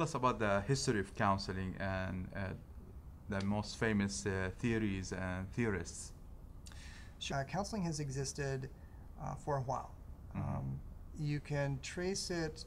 us about the history of counseling and the most famous theories and theorists. Counseling has existed for a while. You can trace it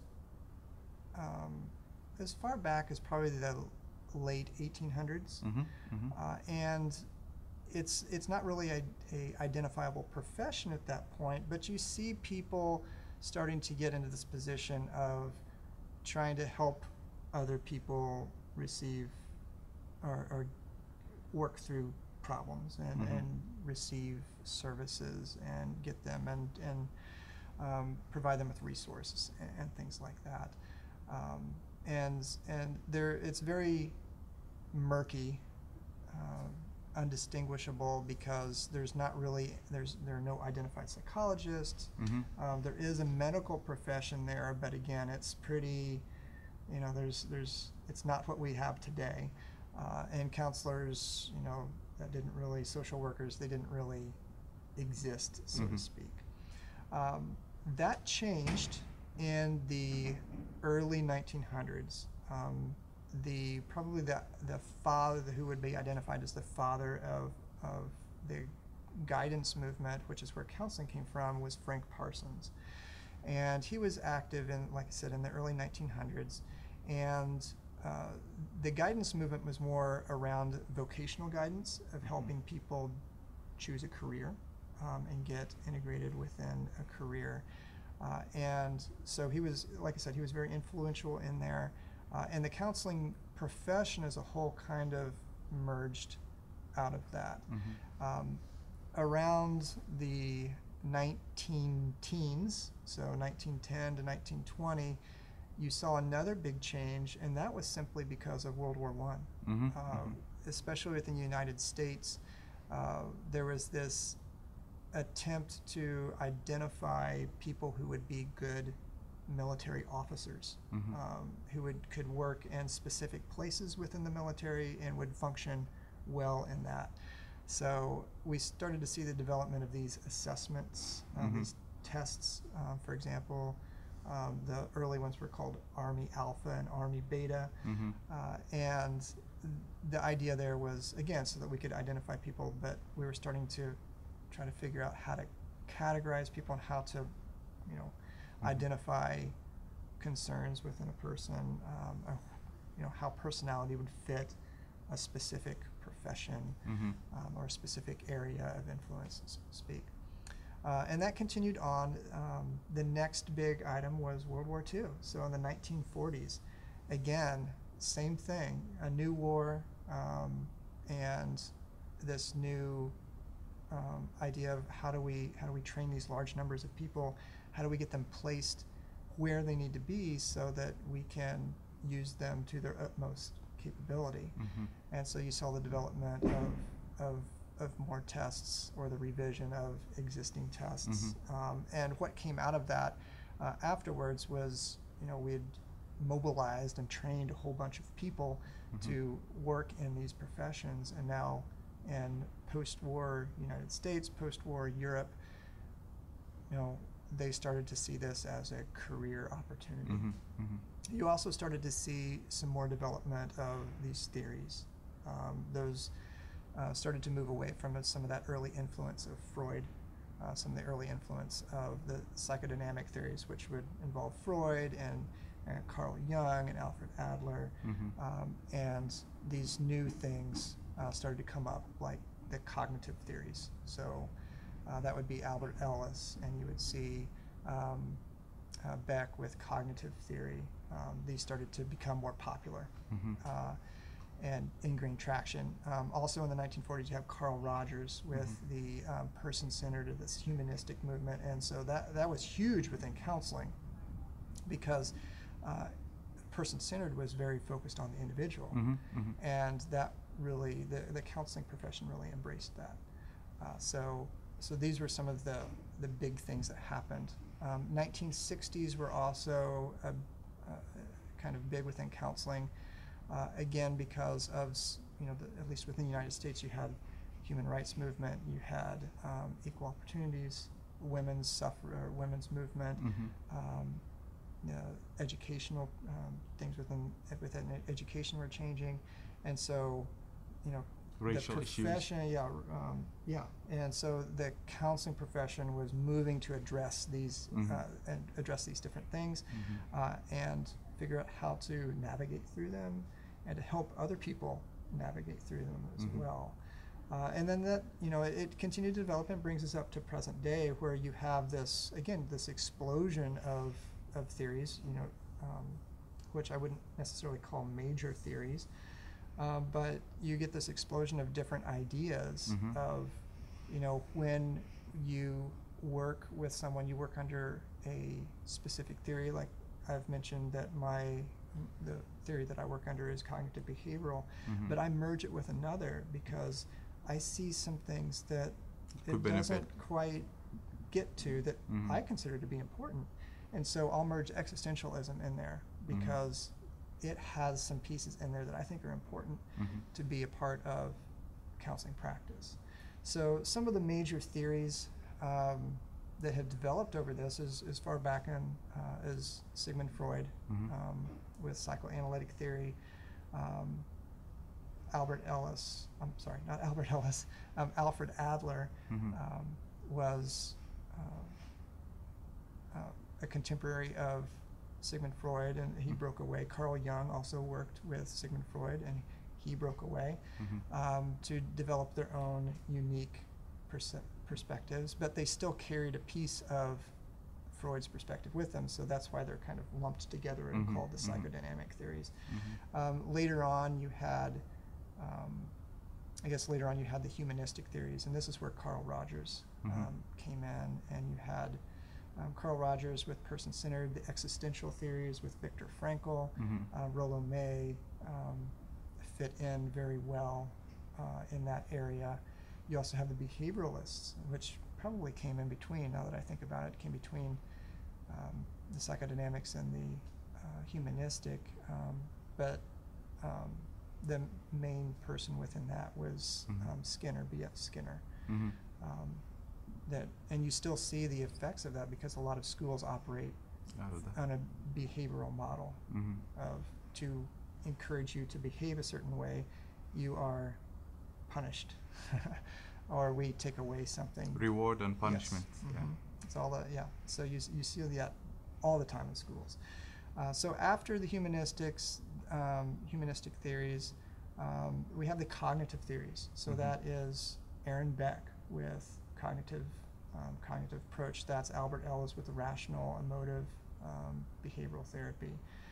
as far back as probably the late 1800s, and it's not really a identifiable profession at that point, but you see people starting to get into this position of trying to help other people receive or work through problems and receive services and get them and provide them with resources and things like that. And it's very murky, undistinguishable, because there are no identified psychologists. There is a medical profession there, but again, it's pretty, it's not what we have today. And counselors, social workers, they didn't really exist, so to speak. That changed in the early 1900s. Probably the father who would be identified as the father of the guidance movement, which is where counseling came from, was Frank Parsons. And he was active in, like I said, in the early 1900s. And the guidance movement was more around vocational guidance, of helping people choose a career and get integrated within a career. And so he was, like I said, he was very influential in there. And the counseling profession as a whole kind of merged out of that. Around the 19-teens, so 1910 to 1920, you saw another big change, and that was simply because of World War I. Especially within the United States, there was this attempt to identify people who would be good military officers, who could work in specific places within the military and would function well in that. So we started to see the development of these assessments, these tests. For example, the early ones were called Army Alpha and Army Beta, and the idea there was, again, so that we could identify people, but we were starting to try to figure out how to categorize people and how to, identify concerns within a person, how personality would fit a specific profession or a specific area of influence, so to speak. And that continued on. The next big item was World War II. So in the 1940s, again, same thing, a new war, and this new idea of how do we train these large numbers of people, how do we get them placed where they need to be so that we can use them to their utmost capability. And so you saw the development of more tests, or the revision of existing tests. And what came out of that afterwards was, we had mobilized and trained a whole bunch of people to work in these professions. And now in post-war United States, post-war Europe, they started to see this as a career opportunity. You also started to see some more development of these theories. Those started to move away from some of that early influence of Freud, some of the early influence of the psychodynamic theories, which would involve Freud and Carl Jung and Alfred Adler. And these new things started to come up, like the cognitive theories. So that would be Albert Ellis, and you would see Beck with cognitive theory. These started to become more popular and ingrain traction. Also in the 1940s, you have Carl Rogers with the person-centered, or this humanistic movement. And so that was huge within counseling, because person-centered was very focused on the individual. And that really, the counseling profession really embraced that. So these were some of the big things that happened. 1960s were also kind of big within counseling, again because of, at least within the United States, you had human rights movement, you had equal opportunities, women's movement, educational things within education were changing, and so, you know, Racial the issues. profession, and so the counseling profession was moving to address these and address these different things, and figure out how to navigate through them, and to help other people navigate through them as well. And then that, you know, it continued to develop and brings us up to present day, where you have this, again, this explosion of theories, you know, which I wouldn't necessarily call major theories, but you get this explosion of different ideas of, you know, when you work with someone, you work under a specific theory. Like I've mentioned that the theory that I work under is cognitive behavioral, but I merge it with another because I see some things that it doesn't quite get to that I consider to be important. And so I'll merge existentialism in there because it has some pieces in there that I think are important to be a part of counseling practice. So some of the major theories that have developed over this is as far back in as Sigmund Freud with psychoanalytic theory, Alfred Adler was a contemporary of Sigmund Freud, and he broke away. Carl Jung also worked with Sigmund Freud, and he broke away to develop their own unique perspectives, but they still carried a piece of Freud's perspective with them, so that's why they're kind of lumped together and called the psychodynamic theories. Later on you had, the humanistic theories, and this is where Carl Rogers came in, and you had Carl Rogers with person-centered, the existential theories with Viktor Frankl, Rollo May fit in very well in that area. You also have the behavioralists, which probably came in between, now that I think about it, came between the psychodynamics and the humanistic, but the main person within that was Skinner, B.F. Skinner. And you still see the effects of that because a lot of schools operate on a behavioral model of to encourage you to behave a certain way, you are punished, or we take away something. Reward and punishment. Yes. It's all that. Yeah. So you see that all the time in schools. So after the humanistic theories, we have the cognitive theories. So that is Aaron Beck with cognitive approach. That's Albert Ellis with the rational emotive behavioral therapy.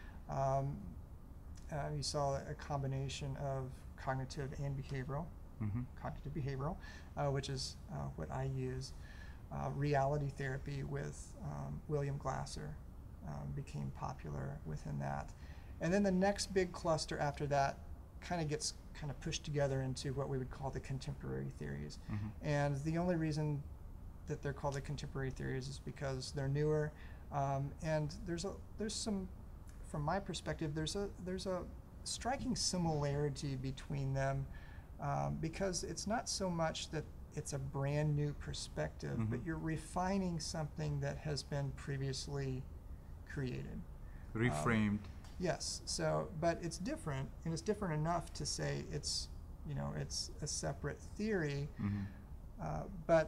You saw a combination of cognitive and behavioral, which is what I use. Reality therapy with William Glasser became popular within that. And then the next big cluster after that gets pushed together into what we would call the contemporary theories. And the only reason that they're called the contemporary theories is because they're newer, and there's some, from my perspective, there's a striking similarity between them, because it's not so much that it's a brand new perspective, but you're refining something that has been previously created, reframed. Yes. So, but it's different, and it's different enough to say it's a separate theory, but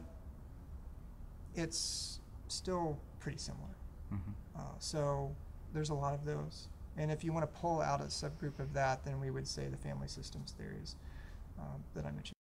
it's still pretty similar. So there's a lot of those, and if you want to pull out a subgroup of that, then we would say the family systems theories that I mentioned